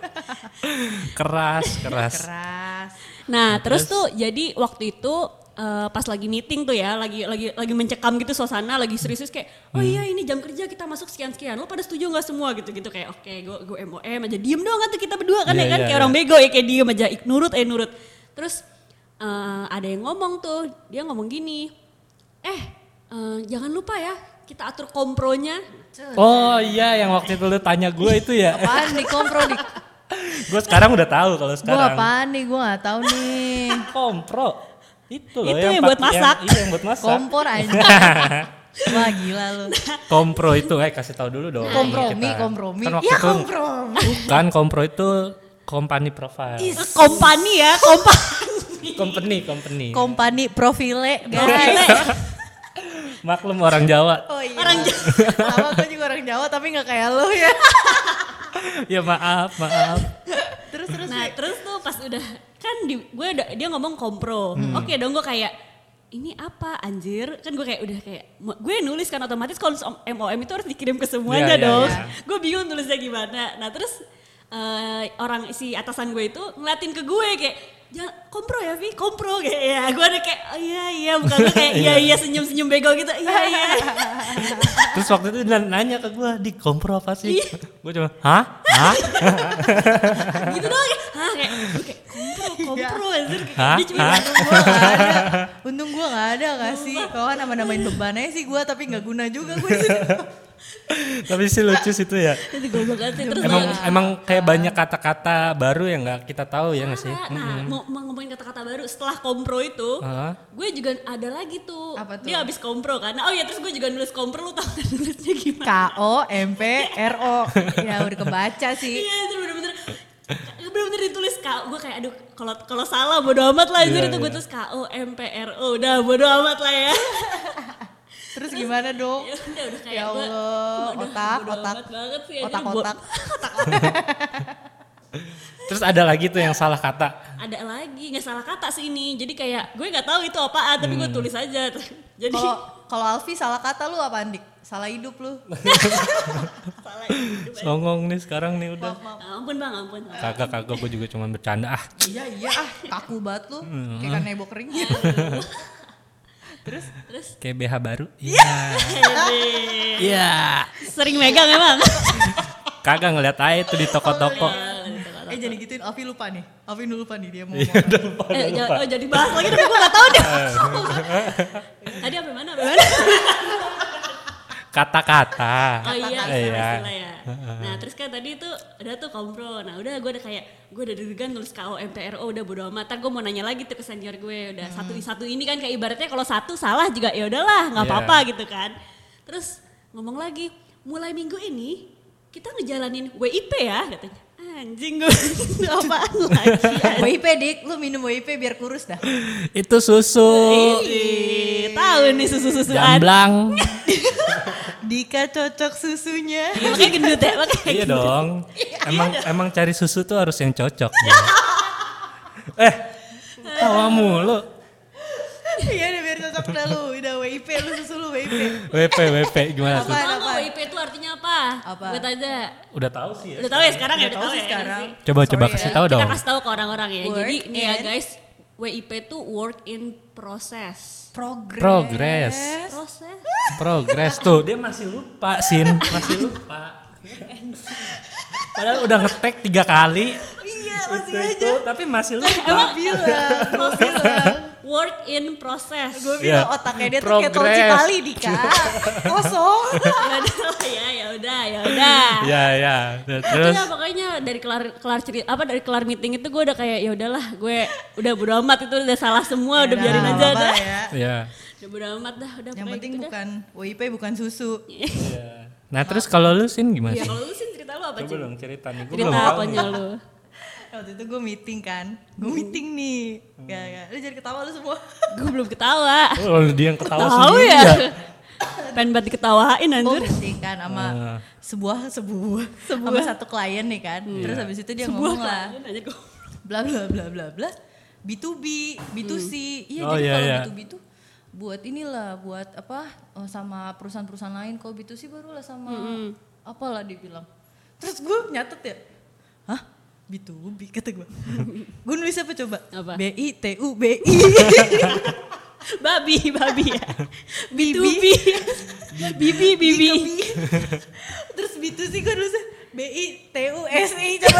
[SPEAKER 2] Keras keras.
[SPEAKER 1] keras.
[SPEAKER 3] Nah, terus, tuh jadi waktu itu eh, pas lagi meeting tuh ya, lagi lagi lagi mencekam gitu suasana, lagi serius kayak, oh iya ini jam kerja kita masuk sekian sekian, lo pada setuju nggak semua gitu-gitu kayak, oke gue gue M O M aja diem doang kan tuh kita berdua kan
[SPEAKER 2] Iya,
[SPEAKER 3] ya kan
[SPEAKER 2] iya,
[SPEAKER 3] kayak
[SPEAKER 2] iya.
[SPEAKER 3] orang bego ya kayak diem aja, ik, nurut eh nurut. Terus eh, ada yang ngomong tuh, dia ngomong gini, eh eh, jangan lupa ya kita atur kompronya.
[SPEAKER 2] Oh iya, yang waktu itu lu tanya gue itu ya.
[SPEAKER 1] Apaan nih kompro nih?
[SPEAKER 2] Gue sekarang udah tahu kalau
[SPEAKER 1] Gue
[SPEAKER 2] sekarang.
[SPEAKER 1] apaan nih? Gue gak tahu nih.
[SPEAKER 2] Kompro. Itu loh
[SPEAKER 3] Itu
[SPEAKER 2] yang,
[SPEAKER 3] yang
[SPEAKER 2] pak-
[SPEAKER 3] buat masak.
[SPEAKER 2] Yang, iya yang buat masak.
[SPEAKER 1] Kompor aja. Wah gila lu.
[SPEAKER 2] Kompro itu, eh kasih tahu dulu dong.
[SPEAKER 1] Kompromi,
[SPEAKER 2] kita.
[SPEAKER 1] kompromi.
[SPEAKER 2] Kan waktu
[SPEAKER 1] Ya
[SPEAKER 2] itu,
[SPEAKER 1] kompromi.
[SPEAKER 2] kan kompro itu company profile.
[SPEAKER 3] Kompani ya, kompani.
[SPEAKER 2] Company, company.
[SPEAKER 1] Kompani profile guys.
[SPEAKER 2] Maklum orang Jawa.
[SPEAKER 1] Oh iya.
[SPEAKER 3] Orang
[SPEAKER 1] Sama gue juga orang Jawa tapi gak kayak lo ya.
[SPEAKER 2] Ya maaf, maaf.
[SPEAKER 1] Terus terus.
[SPEAKER 3] Nah terus tuh pas udah kan di, gue udah, dia ngomong kompro.
[SPEAKER 2] Hmm.
[SPEAKER 3] Oke dong gue kayak ini apa anjir, kan gue kayak udah kayak gue nulis kan otomatis kalau M O M itu harus dikirim ke semuanya
[SPEAKER 2] Iya, iya,
[SPEAKER 3] dong.
[SPEAKER 2] iya.
[SPEAKER 3] Gue bingung tulisnya gimana. Nah terus uh, orang si atasan gue itu ngeliatin ke gue kayak jangan kompro ya Vi, kompro kayak ya. Gue ada kayak oh, iya iya, bukan gue kayak iya iya senyum-senyum bego gitu. Iya iya.
[SPEAKER 2] Terus waktu itu dia nanya ke gue, di kompro apa sih? Gue cuma, hah? Hah?
[SPEAKER 3] Gitu doang kayak hah kayak gue kayak kompro kompro anjir kayak
[SPEAKER 2] Hah?
[SPEAKER 3] dia cuma
[SPEAKER 2] Hah?
[SPEAKER 1] Untung gue gak ada. Untung gue gak ada gak sih. Kalau kan nama-namain bebannya sih gue tapi gak guna juga gue sih.
[SPEAKER 2] Tapi sih lucu sih itu ya.
[SPEAKER 3] itu goblok banget sih. Terus
[SPEAKER 2] Emang
[SPEAKER 3] gue-
[SPEAKER 2] emang kayak banyak kata-kata baru yang nggak kita tahu ya nggak sih?
[SPEAKER 3] Nah, nah, mau, mau ngomongin kata-kata baru setelah kompro itu,
[SPEAKER 2] Hah?
[SPEAKER 3] gue juga ada lagi tuh.
[SPEAKER 1] Apa tuh?
[SPEAKER 3] Dia habis kompro kan. Nah, oh ya terus gue juga nulis kompro, lu tau kan nulisnya gimana?
[SPEAKER 1] K O M P R O. Ya udah kebaca sih.
[SPEAKER 3] Iya itu bener-bener bener-bener ditulis K O. Gue kayak aduh kalau kalau salah bodo amat lah anjir
[SPEAKER 2] Iya,
[SPEAKER 3] itu gue
[SPEAKER 2] iya.
[SPEAKER 3] tulis K O M P R O. Udah bodo amat lah ya.
[SPEAKER 1] Terus gimana dong?
[SPEAKER 3] Ya udah udah kayak
[SPEAKER 1] Ya
[SPEAKER 3] gue
[SPEAKER 1] Allah,
[SPEAKER 3] udah
[SPEAKER 1] otak,
[SPEAKER 3] bodo
[SPEAKER 1] otak.
[SPEAKER 3] amat banget sih anjir.
[SPEAKER 1] Otak-otak.
[SPEAKER 2] Terus ada lagi tuh yang salah kata.
[SPEAKER 3] Ada lagi nggak salah kata sih ini. Jadi kayak gue nggak tahu itu apaan tapi gue tulis aja. Jadi
[SPEAKER 1] Kalau kalau Alfi salah kata lu apa Andik? Salah hidup lu.
[SPEAKER 3] salah hidup.
[SPEAKER 2] Songong nih sekarang nih udah.
[SPEAKER 1] Maaf, maaf.
[SPEAKER 3] Ampun bang, ampun.
[SPEAKER 2] Kagak kagak gue juga cuma bercanda ah.
[SPEAKER 1] Iya iya ah, kaku banget lu. Kayak kan nebo kering. Terus
[SPEAKER 3] Terus
[SPEAKER 2] Kayak B H baru. Iya.
[SPEAKER 3] Hede.
[SPEAKER 2] Iya.
[SPEAKER 3] Sering megang emang.
[SPEAKER 2] Kagak ngeliat aja tuh di toko-toko.
[SPEAKER 1] eh jadi gituin Alfi lupa nih. Alfi lupa nih dia mau
[SPEAKER 2] Iya
[SPEAKER 1] ngomong.
[SPEAKER 2] udah lupa,
[SPEAKER 3] Eh,
[SPEAKER 2] udah
[SPEAKER 3] ja-
[SPEAKER 2] lupa.
[SPEAKER 3] oh, jadi bahas lagi tapi gue gak tau deh. Tadi apa mana? Apa mana?
[SPEAKER 2] Kata-kata.
[SPEAKER 3] Oh iya,
[SPEAKER 2] Iya.
[SPEAKER 3] istilah ya. Nah terus kan tadi itu udah tuh kompro. Nah udah gue udah kayak gue udah deg-degan tulis K O M P R O udah bodo amat. Ntar gue mau nanya lagi tuh ke senior gue. Udah satu satu ini kan kayak ibaratnya kalau satu salah juga ya udahlah nggak
[SPEAKER 2] Iya.
[SPEAKER 3] apa-apa gitu kan. Terus ngomong lagi mulai minggu ini kita ngejalanin W I P ya katanya. Anjing gue apaan lagi?
[SPEAKER 1] W I P dik, lu minum W I P biar kurus dah.
[SPEAKER 2] Itu susu.
[SPEAKER 3] Ih, tahu nih susu-susuan.
[SPEAKER 2] Jamblang.
[SPEAKER 1] Dika cocok susunya.
[SPEAKER 3] Iya, makanya gendut ya, makanya
[SPEAKER 2] Iya
[SPEAKER 3] gendut.
[SPEAKER 2] dong. Emang emang cari susu tuh harus yang cocok. Ya. eh, tawa mulu.
[SPEAKER 1] Iya deh biar cocok dah lu. Udah W I P lu susu lu W I P.
[SPEAKER 2] W P W P gimana tuh?
[SPEAKER 1] Apaan,
[SPEAKER 3] Tahu nggak
[SPEAKER 1] apaan?
[SPEAKER 3] W I P itu artinya apa?
[SPEAKER 1] Apa?
[SPEAKER 3] Gue tanya.
[SPEAKER 2] Udah tahu sih ya.
[SPEAKER 3] Udah tahu ya sekarang ya?
[SPEAKER 1] Udah tahu sih
[SPEAKER 3] ya,
[SPEAKER 1] sekarang.
[SPEAKER 3] sih?
[SPEAKER 2] Coba coba
[SPEAKER 1] Sorry
[SPEAKER 2] kasih
[SPEAKER 1] ya.
[SPEAKER 2] tahu
[SPEAKER 3] Kita
[SPEAKER 2] dong.
[SPEAKER 3] kasih tahu ke orang-orang ya.
[SPEAKER 1] Work
[SPEAKER 3] Jadi nih ya
[SPEAKER 1] in-
[SPEAKER 3] guys, W I P itu work in process.
[SPEAKER 1] Progress.
[SPEAKER 2] Progress.
[SPEAKER 3] Proses.
[SPEAKER 2] Progress tuh. Dia masih lupa, Sin. Masih lupa. Padahal udah ngetek tiga kali.
[SPEAKER 1] Iya
[SPEAKER 2] Itu,
[SPEAKER 1] masih
[SPEAKER 2] itu, tapi masih lupa.
[SPEAKER 1] Gue bilang, gue bilang.
[SPEAKER 3] Work in process.
[SPEAKER 1] Gue bilang
[SPEAKER 2] Iya.
[SPEAKER 1] otaknya dia tuh kayak tol
[SPEAKER 2] Progress.
[SPEAKER 1] Cipali Dika. Kosong.
[SPEAKER 3] Ya udah ya, ya udah, ya udah.
[SPEAKER 2] Ya ya. Terus
[SPEAKER 3] Terus pokoknya dari kelar kelar cerita apa dari kelar meeting itu gue udah kayak ya udahlah, gue udah bodo amat itu udah salah semua, udah
[SPEAKER 1] Ya
[SPEAKER 3] biarin
[SPEAKER 1] udah,
[SPEAKER 3] aja
[SPEAKER 1] nggak apa-apa
[SPEAKER 3] dah.
[SPEAKER 1] ya.
[SPEAKER 2] ya.
[SPEAKER 3] Udah bodo amat dah, udah
[SPEAKER 1] Yang
[SPEAKER 3] pokoknya
[SPEAKER 1] penting
[SPEAKER 3] gitu dah.
[SPEAKER 1] bukan W I P bukan susu.
[SPEAKER 2] Iya. Nah, terus kalau lu Sin gimana
[SPEAKER 3] Ya
[SPEAKER 2] sih?
[SPEAKER 3] kalau lu sih cerita lu apa
[SPEAKER 2] Coba
[SPEAKER 3] sih?
[SPEAKER 2] dong cerita nih. Gua
[SPEAKER 3] Cerita
[SPEAKER 2] belum tahu
[SPEAKER 3] apanya
[SPEAKER 2] nih.
[SPEAKER 3] lu?
[SPEAKER 1] Waktu itu gue meeting kan. Gue meeting nih. Gak, gak. Lu jangan ketawa lu semua.
[SPEAKER 3] Gue belum ketawa.
[SPEAKER 2] Oh, dia yang ketawa
[SPEAKER 3] Tahu
[SPEAKER 2] sendiri
[SPEAKER 3] ya.
[SPEAKER 2] ya.
[SPEAKER 3] Pengen banget diketawain
[SPEAKER 1] Gue
[SPEAKER 3] anjir.
[SPEAKER 1] meeting kan sama
[SPEAKER 2] Ah.
[SPEAKER 1] sebuah sebuah sama satu klien nih kan. Terus habis itu dia
[SPEAKER 3] Sebuah
[SPEAKER 1] ngomong lah.
[SPEAKER 3] klien aja gua.
[SPEAKER 1] Bla bla bla bla bla. B to B, B to C. Iya
[SPEAKER 2] Oh,
[SPEAKER 1] jadi
[SPEAKER 2] iya,
[SPEAKER 1] kalau
[SPEAKER 2] iya.
[SPEAKER 1] B to B tuh buat inilah, buat apa oh, sama perusahaan-perusahaan lain. Kalau B to C barulah sama apalah dibilang. Terus gue nyatet ya. Hah? B to B kata gue. Gue nulis apa coba?
[SPEAKER 3] Apa?
[SPEAKER 1] B I T U B I.
[SPEAKER 3] Babi, babi ya.
[SPEAKER 1] Bibi.
[SPEAKER 3] Bibi. Bibi, bibi.
[SPEAKER 1] Terus B to C gue nulisnya B I T U S I coba.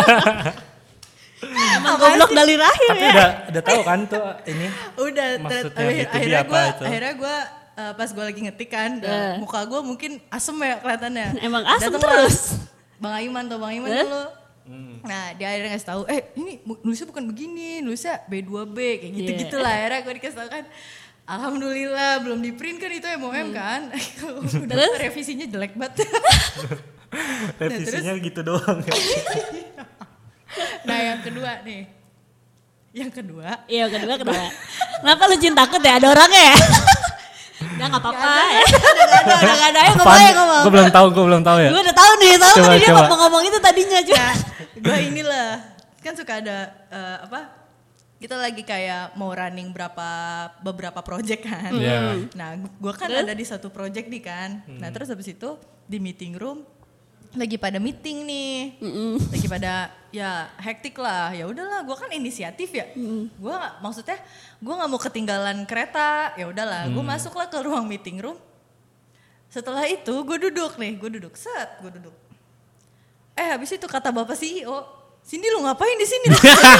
[SPEAKER 3] Emang goblok dari lahir
[SPEAKER 2] Tapi
[SPEAKER 3] ya.
[SPEAKER 2] udah udah tahu kan tuh ini.
[SPEAKER 1] Udah
[SPEAKER 2] Maksudnya
[SPEAKER 1] ter-
[SPEAKER 2] B to B
[SPEAKER 1] akhirnya
[SPEAKER 2] apa
[SPEAKER 1] gue
[SPEAKER 2] itu?
[SPEAKER 1] akhirnya gue uh, pas gue lagi ngetik kan,
[SPEAKER 3] Eh.
[SPEAKER 1] muka gue mungkin asem ya kelihatannya.
[SPEAKER 3] Emang asem
[SPEAKER 1] Datanglah
[SPEAKER 3] terus.
[SPEAKER 1] Bang Aiman tuh, Bang Aiman
[SPEAKER 3] Eh?
[SPEAKER 1] dulu. Nah dia akhirnya ngasih tahu, eh ini nulisnya bukan begini, nulisnya B dua B kayak gitu-gitu lah. Akhirnya gue dikasih tahu kan, alhamdulillah belum di print kan itu M O M kan. Udah revisinya jelek banget.
[SPEAKER 2] Revisinya gitu doang ya.
[SPEAKER 1] Nah yang kedua nih, yang kedua
[SPEAKER 3] Iya kedua kedua. Kenapa lu Jin takut ya ada orangnya ya? Udah nggak apa-apa. ya.
[SPEAKER 1] udah gak ada, udah gak ada, ayo ngomong
[SPEAKER 2] Apaan?
[SPEAKER 1] ayo ngomong.
[SPEAKER 2] Gue belum tahu, gue belum tahu ya.
[SPEAKER 3] Gue udah tahu nih, tahu
[SPEAKER 2] Coba,
[SPEAKER 3] tadi dia
[SPEAKER 2] coba.
[SPEAKER 3] ngomong-ngomong itu tadinya juga.
[SPEAKER 1] Nah, gue inilah kan suka ada eh, apa? Kita lagi kayak mau running berapa beberapa project kan.
[SPEAKER 2] Iya.
[SPEAKER 1] Nah, gue kan
[SPEAKER 3] Terus?
[SPEAKER 1] ada di satu project nih kan. Nah, terus habis itu di meeting room lagi pada meeting nih. Lagi pada ya hektik lah. Ya udahlah, gue kan inisiatif ya. Gue nggak- maksudnya gue nggak mau ketinggalan kereta. Ya udahlah, gue masuklah ke ruang meeting room. Setelah itu gue duduk nih, gue duduk set, gue duduk. Eh habis itu kata bapak C E O, Cindy lu ngapain di sini?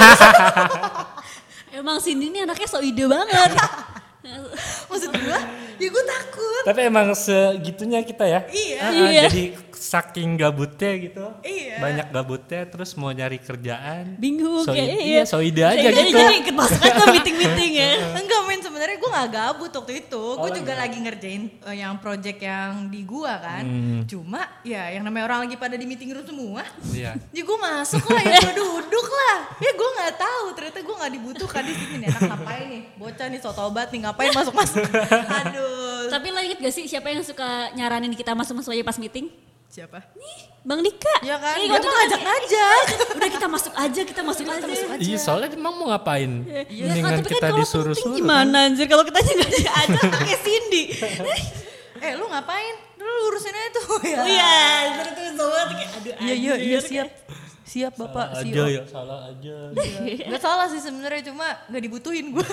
[SPEAKER 3] Emang Cindy ini anaknya so ide banget.
[SPEAKER 1] Maksud gue, ya gue takut.
[SPEAKER 2] Tapi emang segitunya kita ya.
[SPEAKER 1] Iya.
[SPEAKER 2] Ah, ah,
[SPEAKER 3] Iya.
[SPEAKER 2] Jadi saking gabutnya gitu.
[SPEAKER 1] Iya.
[SPEAKER 2] Banyak gabutnya terus mau nyari kerjaan.
[SPEAKER 3] Bingung
[SPEAKER 2] So,
[SPEAKER 3] kayak
[SPEAKER 2] iya, so ide aja
[SPEAKER 3] Jadi-
[SPEAKER 2] gitu.
[SPEAKER 3] Jadi ikut masuk aja meeting-meeting ya.
[SPEAKER 1] Enggak men, sebenarnya gue gak gabut waktu itu. Gue
[SPEAKER 2] lagi
[SPEAKER 1] juga
[SPEAKER 2] nggak?
[SPEAKER 1] lagi ngerjain eh, yang project yang di gua kan.
[SPEAKER 2] Hmm.
[SPEAKER 1] Cuma ya yang namanya orang lagi pada di meeting room semua.
[SPEAKER 2] Iya.
[SPEAKER 1] Ya gue masuk lah, ya gue duduk lah. Ya gue gak tahu, ternyata gue gak dibutuhkan di sini. Nih, anak ngapain nih? Bocah nih sotobat nih, ngapain masuk-masuk. Aduh.
[SPEAKER 3] Tapi lo inget gak sih siapa yang suka nyaranin kita masuk-masuk aja pas meeting?
[SPEAKER 1] Siapa?
[SPEAKER 3] Bang Dika.
[SPEAKER 1] Ya kan,
[SPEAKER 3] Eh,
[SPEAKER 1] dia
[SPEAKER 3] waktu
[SPEAKER 1] mah
[SPEAKER 3] itu kan-
[SPEAKER 1] ngajak-ngajak.
[SPEAKER 3] Udah kita masuk aja, kita masuk aja.
[SPEAKER 2] Iya soalnya emang mau ngapain?
[SPEAKER 3] Ya
[SPEAKER 2] Mendingan
[SPEAKER 3] kan, tapi kan
[SPEAKER 2] kita
[SPEAKER 3] kalau
[SPEAKER 2] disuruh-suruh.
[SPEAKER 3] penting gimana anjir kalau kita nggak diajak kayak Cindy.
[SPEAKER 1] Eh lu ngapain? Lu urusin aja tuh ya.
[SPEAKER 3] Oh iya, terus tuh semua tuh kayak aduh
[SPEAKER 1] Iya iya iya
[SPEAKER 3] anjir.
[SPEAKER 1] siap. Siap Bapak
[SPEAKER 2] Salah
[SPEAKER 1] C E
[SPEAKER 2] aja
[SPEAKER 1] O.
[SPEAKER 2] ya, salah aja.
[SPEAKER 1] Gak salah sih sebenarnya, cuma gak dibutuhin gue.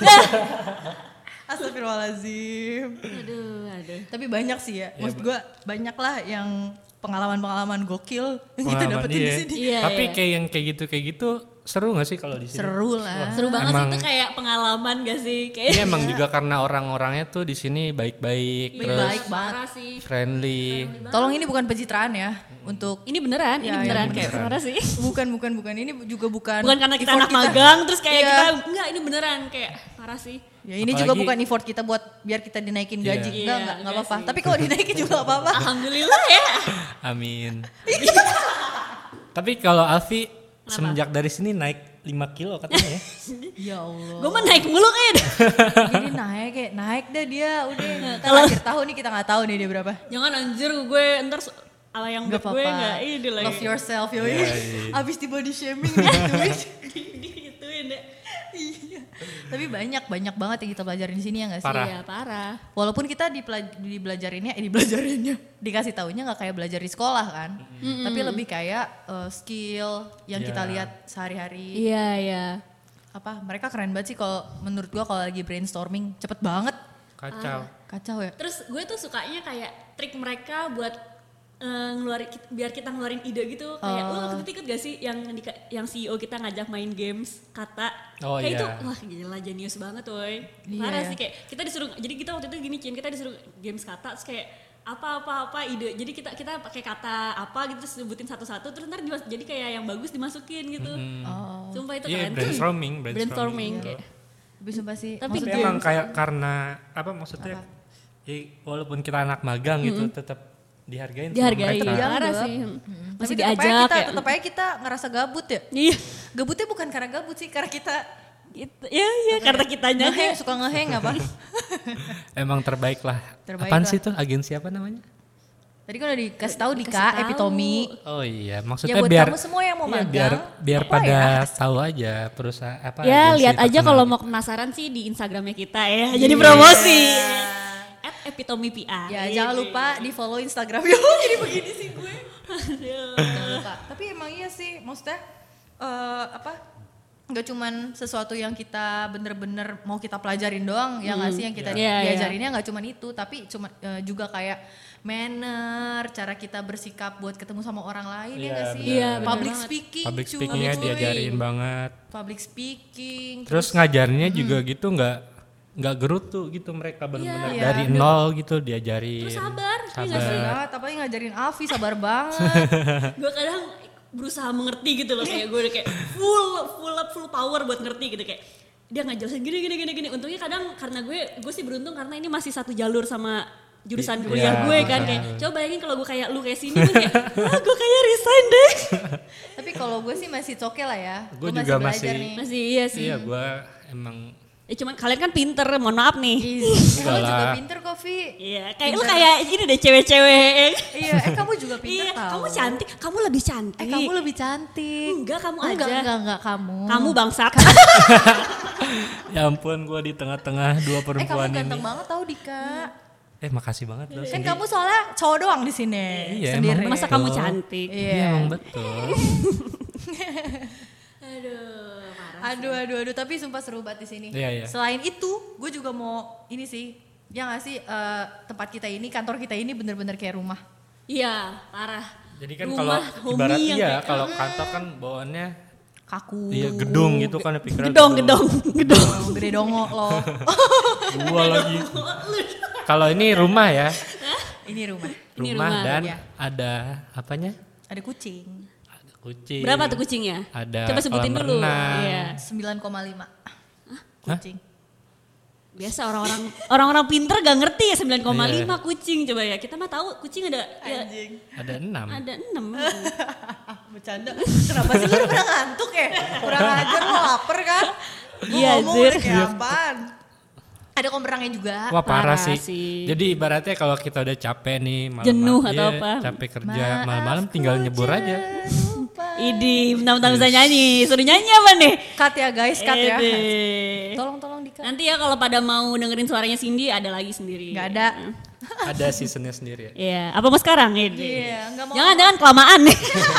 [SPEAKER 1] Astagfirullahaladzim.
[SPEAKER 3] Aduh, aduh.
[SPEAKER 1] Tapi banyak sih ya, maksud gue banyak lah yang pengalaman-pengalaman gokil yang kita
[SPEAKER 2] Pengalaman,
[SPEAKER 1] dapetin di
[SPEAKER 2] iya.
[SPEAKER 1] sini.
[SPEAKER 3] Iya,
[SPEAKER 2] Tapi
[SPEAKER 3] iya.
[SPEAKER 2] kayak yang kayak gitu kayak gitu seru gak sih kalau di sini?
[SPEAKER 1] Seru lah.
[SPEAKER 3] Seru banget
[SPEAKER 2] Emang-
[SPEAKER 3] sih itu kayak pengalaman gak sih? Kayak
[SPEAKER 2] Iya emang juga karena orang-orangnya tuh di sini baik-baik, terus
[SPEAKER 1] Baik banget.
[SPEAKER 3] parah sih.
[SPEAKER 2] friendly.
[SPEAKER 1] Tolong ini bukan pencitraan ya untuk
[SPEAKER 3] Ini beneran, ini
[SPEAKER 1] Ya,
[SPEAKER 3] beneran
[SPEAKER 1] ya,
[SPEAKER 3] kayak
[SPEAKER 2] beneran.
[SPEAKER 3] parah sih.
[SPEAKER 1] bukan bukan bukan ini juga bukan
[SPEAKER 3] Bukan karena kita
[SPEAKER 1] effort
[SPEAKER 3] anak magang terus kayak
[SPEAKER 1] Iya.
[SPEAKER 3] kita enggak ini beneran kayak parah sih.
[SPEAKER 1] Ya ini juga
[SPEAKER 2] Apalagi-
[SPEAKER 1] bukan effort kita buat biar kita dinaikin gaji.
[SPEAKER 2] Iya.
[SPEAKER 1] Enggak,
[SPEAKER 3] Iya,
[SPEAKER 1] enggak, enggak
[SPEAKER 3] enggak
[SPEAKER 1] apa-apa.
[SPEAKER 3] sih.
[SPEAKER 1] Tapi kalau dinaikin juga enggak apa-apa.
[SPEAKER 3] Alhamdulillah ya.
[SPEAKER 2] Amin. Tapi kalau Alfi semenjak dari sini naik lima kilo katanya ya.
[SPEAKER 1] Ya Allah.
[SPEAKER 3] Gue mah naik mulu kayaknya.
[SPEAKER 1] Jadi naik kayak naik dah dia udah. Ntar
[SPEAKER 3] Kalau-
[SPEAKER 1] akhir tahun nih kita nggak tahu nih dia berapa.
[SPEAKER 3] Jangan anjir gue ntar so- ala yang
[SPEAKER 1] Gak
[SPEAKER 3] buat gue
[SPEAKER 1] apa-apa.
[SPEAKER 3] enggak ini lagi.
[SPEAKER 1] Love yourself yo.
[SPEAKER 2] Iya, iya.
[SPEAKER 1] Abis di body shaming gitu.
[SPEAKER 3] Digituin deh.
[SPEAKER 1] Iya. Tapi banyak banyak banget yang kita pelajarin di sini ya nggak sih?
[SPEAKER 2] Parah.
[SPEAKER 3] Iya parah.
[SPEAKER 1] Walaupun kita dipelaj- dibelajarinnya, eh dibelajarinnya, dikasih taunya nggak kayak belajar di sekolah kan, tapi lebih kayak uh, skill yang
[SPEAKER 2] Iya.
[SPEAKER 1] kita lihat sehari-hari.
[SPEAKER 3] Iya iya.
[SPEAKER 1] Apa? Mereka keren banget sih kalau menurut gua kalau lagi brainstorming cepet banget,
[SPEAKER 2] Kacau.
[SPEAKER 1] kacau ya.
[SPEAKER 3] Terus gue tuh sukanya kayak trik mereka buat eh, ngeluarin kit- biar kita ngeluarin ide gitu kayak lu waktu itu ikut gak sih yang di, yang C E O kita ngajak main games kata
[SPEAKER 2] Oh,
[SPEAKER 3] kayak
[SPEAKER 2] iya.
[SPEAKER 3] itu wah gila jenius banget woy
[SPEAKER 1] Iya,
[SPEAKER 3] parah
[SPEAKER 1] iya.
[SPEAKER 3] sih kayak kita disuruh jadi kita waktu itu gini Cin kita disuruh games kata terus kayak apa apa apa ide jadi kita kita pakai kata apa gitu terus sebutin satu-satu terus ntar dimas- jadi kayak yang bagus dimasukin gitu
[SPEAKER 1] Oh.
[SPEAKER 3] sumpah itu
[SPEAKER 2] Iya
[SPEAKER 3] keren
[SPEAKER 2] brainstorming,
[SPEAKER 3] brainstorming
[SPEAKER 2] brainstorming.
[SPEAKER 3] kayak
[SPEAKER 1] Tapi sumpah sih.
[SPEAKER 3] Tapi
[SPEAKER 2] Tapi
[SPEAKER 1] maksudnya-
[SPEAKER 2] emang kayak karena apa maksudnya? Ya, walaupun kita anak magang gitu tetap dihargain sama
[SPEAKER 3] dihargai
[SPEAKER 2] mereka.
[SPEAKER 1] Iya.
[SPEAKER 3] parah
[SPEAKER 1] Dianggap.
[SPEAKER 3] sih
[SPEAKER 1] Tapi
[SPEAKER 3] masih
[SPEAKER 1] tetep aja
[SPEAKER 3] diajak
[SPEAKER 1] kita,
[SPEAKER 3] ya
[SPEAKER 1] tetep aja kita ngerasa gabut ya.
[SPEAKER 3] iya
[SPEAKER 1] Gabutnya bukan karena gabut sih, karena kita
[SPEAKER 3] gitu ya ya karena kitanya aja
[SPEAKER 1] ngeheng, suka ngeheng apa?
[SPEAKER 2] Emang terbaik lah.
[SPEAKER 1] Terbaik
[SPEAKER 2] Apaan
[SPEAKER 1] lah.
[SPEAKER 2] sih tuh agensi apa namanya?
[SPEAKER 1] Tadi kan udah dikasih tahu
[SPEAKER 3] Dikasih
[SPEAKER 1] Dika,
[SPEAKER 3] tahu.
[SPEAKER 1] Epitomi.
[SPEAKER 2] Oh iya,
[SPEAKER 1] Ya
[SPEAKER 2] maksudnya
[SPEAKER 1] buat
[SPEAKER 2] biar
[SPEAKER 1] kamu semua yang mau
[SPEAKER 2] iya,
[SPEAKER 1] magang.
[SPEAKER 2] biar biar
[SPEAKER 1] apa
[SPEAKER 2] pada
[SPEAKER 1] ya?
[SPEAKER 2] tahu aja perusahaan apa.
[SPEAKER 3] Ya
[SPEAKER 2] agensi
[SPEAKER 3] lihat aja
[SPEAKER 2] terkenal
[SPEAKER 3] kalau
[SPEAKER 2] gitu.
[SPEAKER 3] mau penasaran sih di Instagramnya kita ya. Jadi promosi. At Epitomi P R.
[SPEAKER 1] Ya jangan lupa di follow Instagram. Yo jadi begini sih gue. Jangan lupa. Tapi emang iya sih, maksudnya eh, apa? Gak cuman sesuatu yang kita bener-bener mau kita pelajarin doang, ya nggak sih yang kita
[SPEAKER 3] Iya, iya.
[SPEAKER 1] diajarinnya nggak cuman itu, tapi cuma eh, juga kayak manner, cara kita bersikap buat ketemu sama orang lain ya
[SPEAKER 2] Iya,
[SPEAKER 1] nggak sih?
[SPEAKER 2] benar. Iya,
[SPEAKER 3] benar
[SPEAKER 1] Public
[SPEAKER 3] banget.
[SPEAKER 1] speaking,
[SPEAKER 2] Public
[SPEAKER 1] cuy.
[SPEAKER 2] speakingnya diajarin banget.
[SPEAKER 1] Public speaking.
[SPEAKER 2] Terus ngajarnya juga gitu nggak nggak gerutu gitu mereka benar-benar
[SPEAKER 1] Iya.
[SPEAKER 2] dari
[SPEAKER 1] Iya.
[SPEAKER 2] nol gitu diajarin.
[SPEAKER 3] Terus sabar, iya nggak
[SPEAKER 2] Sabar.
[SPEAKER 3] sih?
[SPEAKER 1] Enggak, tapi ngajarin Alfi sabar banget.
[SPEAKER 3] Gue kadang berusaha mengerti gitu loh, kayak gue udah kayak full full up full power buat ngerti gitu, kayak dia ngajelasin gini gini gini gini. Untungnya kadang karena gue gue sih beruntung karena ini masih satu jalur sama jurusan
[SPEAKER 2] Iya,
[SPEAKER 3] kuliah gue kan,
[SPEAKER 2] betul.
[SPEAKER 3] kayak coba bayangin kalau gue kayak lu kayak sini gue kayak ah gue kayak resign deh.
[SPEAKER 1] Tapi kalau gue sih masih oke lah ya.
[SPEAKER 2] Gue
[SPEAKER 1] Gue
[SPEAKER 2] juga
[SPEAKER 1] belajar
[SPEAKER 2] masih-
[SPEAKER 1] nih.
[SPEAKER 3] Masih iya sih.
[SPEAKER 2] Iya gue emang
[SPEAKER 3] Ya cuman kalian kan pinter, mohon maaf nih.
[SPEAKER 1] Ih, kamu
[SPEAKER 2] Enggak
[SPEAKER 1] juga
[SPEAKER 2] lah.
[SPEAKER 1] pinter kok, Vi.
[SPEAKER 3] Iya, kayak lu kayak ini deh cewek-cewek.
[SPEAKER 1] Iya, eh kamu juga pinter
[SPEAKER 3] Iya,
[SPEAKER 1] tau.
[SPEAKER 3] kamu cantik, kamu lebih cantik.
[SPEAKER 1] Eh kamu lebih cantik.
[SPEAKER 3] Enggak, kamu
[SPEAKER 1] Oh, enggak,
[SPEAKER 3] aja.
[SPEAKER 1] enggak, enggak, kamu.
[SPEAKER 3] Kamu bangsat.
[SPEAKER 2] ya ampun gue di tengah-tengah dua
[SPEAKER 1] Eh kamu
[SPEAKER 2] perempuan ini.
[SPEAKER 1] ganteng banget tau Dika.
[SPEAKER 2] Eh makasih banget loh.
[SPEAKER 1] Kan
[SPEAKER 2] Cindy.
[SPEAKER 1] kamu soalnya cowok doang di sini.
[SPEAKER 2] Iya,
[SPEAKER 1] sendiri.
[SPEAKER 2] emang
[SPEAKER 3] Masa
[SPEAKER 2] betul.
[SPEAKER 3] kamu cantik?
[SPEAKER 1] Iya.
[SPEAKER 2] Iya emang betul.
[SPEAKER 3] Aduh, parah.
[SPEAKER 1] Aduh, aduh, aduh. Tapi sumpah seru banget di sini.
[SPEAKER 2] Iya, iya.
[SPEAKER 1] Selain itu, gue juga mau ini sih. Ya nggak sih eh, tempat kita ini, kantor kita ini bener-bener kayak rumah.
[SPEAKER 3] Iya, parah.
[SPEAKER 2] Jadi kan
[SPEAKER 3] Rumah
[SPEAKER 2] kalau
[SPEAKER 3] homey
[SPEAKER 2] ibarat
[SPEAKER 3] yang
[SPEAKER 2] iya
[SPEAKER 3] kayak-
[SPEAKER 2] kalau kantor kan bawaannya
[SPEAKER 1] Kaku.
[SPEAKER 2] iya gedung gitu kan pikirnya
[SPEAKER 3] Gedong, gedong, gedong.
[SPEAKER 1] Oh, gede dongo loh.
[SPEAKER 2] Gua lagi. Kalau ini rumah ya.
[SPEAKER 1] Ini rumah.
[SPEAKER 3] Ini
[SPEAKER 2] Rumah,
[SPEAKER 3] rumah,
[SPEAKER 2] dan
[SPEAKER 1] ya.
[SPEAKER 2] ada apanya?
[SPEAKER 1] Ada kucing.
[SPEAKER 2] Ada kucing.
[SPEAKER 3] Berapa tuh kucingnya?
[SPEAKER 2] Ada
[SPEAKER 3] Coba sebutin
[SPEAKER 2] kolam
[SPEAKER 3] dulu.
[SPEAKER 2] renang.
[SPEAKER 3] Iya.
[SPEAKER 1] sembilan koma lima. Kucing.
[SPEAKER 3] Biasa orang-orang orang-orang pinter gak ngerti ya sembilan koma lima kucing, coba ya. Kita mah tahu kucing ada ya,
[SPEAKER 1] Anjing.
[SPEAKER 2] Ada enam.
[SPEAKER 3] ada enam.
[SPEAKER 1] Bercanda. Kenapa sih lu pernah ngantuk ya? Kurang ajar lo lapar kan? Gue
[SPEAKER 3] Iya,
[SPEAKER 1] ngomong
[SPEAKER 3] Zir.
[SPEAKER 1] udah kayak apaan. Ada kolam renangnya juga.
[SPEAKER 2] Wah parah,
[SPEAKER 3] Parah
[SPEAKER 2] sih.
[SPEAKER 3] sih.
[SPEAKER 2] Jadi ibaratnya kalau kita udah capek nih malam
[SPEAKER 3] Jenuh atau apa.
[SPEAKER 2] Capek kerja malam-malam tinggal nyebur aja.
[SPEAKER 3] Idi, bentar-bentar bisa nyanyi. Suruh nyanyi apa nih?
[SPEAKER 1] Cut ya guys, cut ya.
[SPEAKER 3] Ede.
[SPEAKER 1] Tolong tolong di-cut.
[SPEAKER 3] Nanti ya kalau pada mau dengerin suaranya Cindy ada lagi sendiri.
[SPEAKER 1] Gak ada.
[SPEAKER 2] Ada seasonnya sendiri ya.
[SPEAKER 3] Iya, apa mau sekarang? Ede.
[SPEAKER 1] Iya, nggak mau.
[SPEAKER 3] Jangan-jangan kelamaan nih.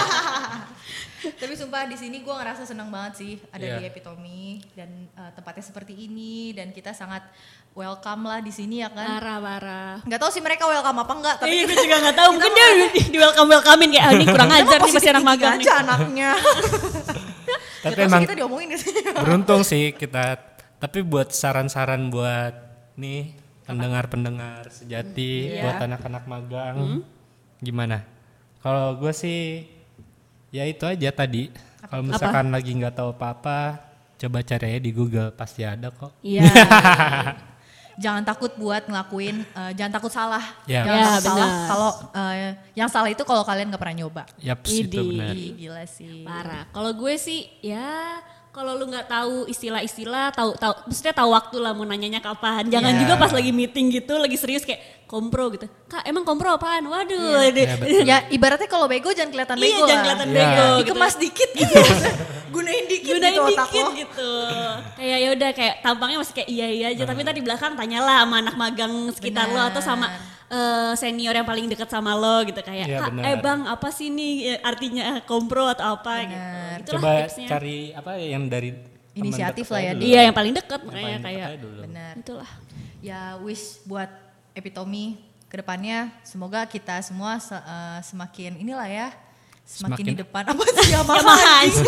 [SPEAKER 1] Tapi sumpah di sini gue ngerasa senang banget sih ada
[SPEAKER 2] Iya.
[SPEAKER 1] di Epitome dan eh, tempatnya seperti ini dan kita sangat welcome lah di sini ya kan.
[SPEAKER 3] Parah-parah.
[SPEAKER 1] Nggak tahu sih mereka welcome apa enggak tapi
[SPEAKER 3] Iya, gue juga gak tahu. Mungkin dia di, di welcome welcomein kayak ah, ini kurang ajar nih masih anak magang nih.
[SPEAKER 1] aja anaknya.
[SPEAKER 2] Tapi
[SPEAKER 1] Ya,
[SPEAKER 2] emang
[SPEAKER 1] kita diomongin di sini.
[SPEAKER 2] beruntung sih kita. Tapi buat saran-saran buat nih pendengar-pendengar sejati,
[SPEAKER 1] Iya.
[SPEAKER 2] buat anak-anak magang, gimana? Kalau gue sih ya itu aja tadi. Kalau misalkan lagi nggak tahu apa-apa, coba cari aja di Google pasti ada kok.
[SPEAKER 3] Iya.
[SPEAKER 1] Jangan takut buat ngelakuin, eh, jangan takut salah.
[SPEAKER 2] Ya.
[SPEAKER 1] Jangan
[SPEAKER 3] Ya,
[SPEAKER 1] takut salah
[SPEAKER 3] benar.
[SPEAKER 1] kalau eh, yang salah itu kalau kalian nggak pernah nyoba.
[SPEAKER 2] Yaps, itu
[SPEAKER 3] Idi.
[SPEAKER 2] benar.
[SPEAKER 1] Ih, gila sih.
[SPEAKER 3] Parah. Kalau gue sih ya kalau lu nggak tahu istilah-istilah, tahu tahu maksudnya tahu waktu lah mau nanyanya kapan. Jangan
[SPEAKER 1] Iya.
[SPEAKER 3] juga pas lagi meeting gitu, lagi serius kayak kompro gitu. Kak, emang kompro apaan? Waduh. deh.
[SPEAKER 2] Ya, betul.
[SPEAKER 1] Ya ibaratnya kalau bego jangan kelihatan
[SPEAKER 3] Iya,
[SPEAKER 1] bego
[SPEAKER 3] jangan
[SPEAKER 1] lah.
[SPEAKER 3] kelihatan
[SPEAKER 2] Iya.
[SPEAKER 3] bego. gitu.
[SPEAKER 1] Dikemas dikit gitu. Gunain dikit
[SPEAKER 3] Gunain
[SPEAKER 1] gitu otak
[SPEAKER 3] dikit
[SPEAKER 1] lo.
[SPEAKER 3] gitu. Kayak ya udah kayak tampangnya masih kayak iya iya aja, tapi tadi di belakang tanyalah sama anak magang sekitar lo atau sama eh, senior yang paling dekat sama lo gitu kayak
[SPEAKER 2] Iya,
[SPEAKER 3] Kak,
[SPEAKER 2] benar.
[SPEAKER 3] eh bang apa sih nih eh, artinya kompro atau apa
[SPEAKER 1] Benar.
[SPEAKER 3] gitu. Itulah
[SPEAKER 2] Coba
[SPEAKER 3] tipsnya.
[SPEAKER 2] cari apa yang dari teman
[SPEAKER 1] Inisiatif
[SPEAKER 2] dekat
[SPEAKER 1] lah ya,
[SPEAKER 2] aja dulu.
[SPEAKER 3] Iya yang paling dekat
[SPEAKER 2] Yang
[SPEAKER 3] makanya
[SPEAKER 2] paling dekat
[SPEAKER 3] kayak
[SPEAKER 2] aja dulu.
[SPEAKER 1] Benar.
[SPEAKER 3] itulah.
[SPEAKER 1] Ya wish buat Epitome kedepannya semoga kita semua se- eh, semakin inilah ya semakin,
[SPEAKER 2] Semakin-
[SPEAKER 1] di depan apa sih Yamaha
[SPEAKER 3] Yamaha.
[SPEAKER 1] anjing.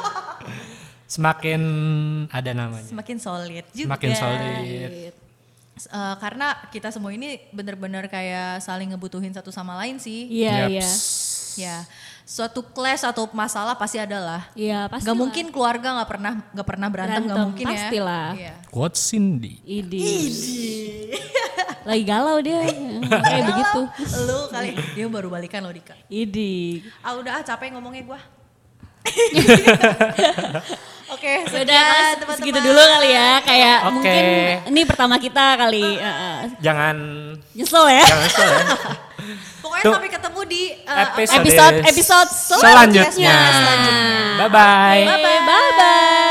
[SPEAKER 2] Semakin ada namanya.
[SPEAKER 1] Semakin solid juga.
[SPEAKER 2] Semakin solid.
[SPEAKER 1] S- eh, karena kita semua ini bener-bener kayak saling ngebutuhin satu sama lain sih.
[SPEAKER 3] Iya
[SPEAKER 2] Yaps.
[SPEAKER 3] iya.
[SPEAKER 1] Ya, suatu clash atau masalah pasti ada lah.
[SPEAKER 3] Iya pasti.
[SPEAKER 1] Gak
[SPEAKER 3] lah.
[SPEAKER 1] mungkin keluarga nggak pernah nggak pernah berantem, nggak
[SPEAKER 3] Berantem,
[SPEAKER 1] mungkin ya.
[SPEAKER 3] pastilah.
[SPEAKER 1] Iya.
[SPEAKER 2] Quote Cindy.
[SPEAKER 3] Idi. Lagi galau dia. Kayak begitu.
[SPEAKER 1] Lu kali dia baru balikan lo Dika.
[SPEAKER 3] Idi.
[SPEAKER 1] Ah udah ah, capek ngomongnya gua. Oke,
[SPEAKER 3] Sudah
[SPEAKER 1] sudah teman-teman.
[SPEAKER 3] segitu dulu kali ya. Kayak
[SPEAKER 2] Oke.
[SPEAKER 3] mungkin ini pertama kita kali. Uh, uh,
[SPEAKER 2] Jangan
[SPEAKER 3] nyesel ya.
[SPEAKER 2] jangan kesel ya.
[SPEAKER 1] Pokoknya
[SPEAKER 2] Tuh.
[SPEAKER 1] sampai ketemu di uh,
[SPEAKER 2] Episode
[SPEAKER 3] Episode episode
[SPEAKER 2] selanjutnya.
[SPEAKER 1] selanjutnya.
[SPEAKER 2] Bye bye.
[SPEAKER 3] Bye bye.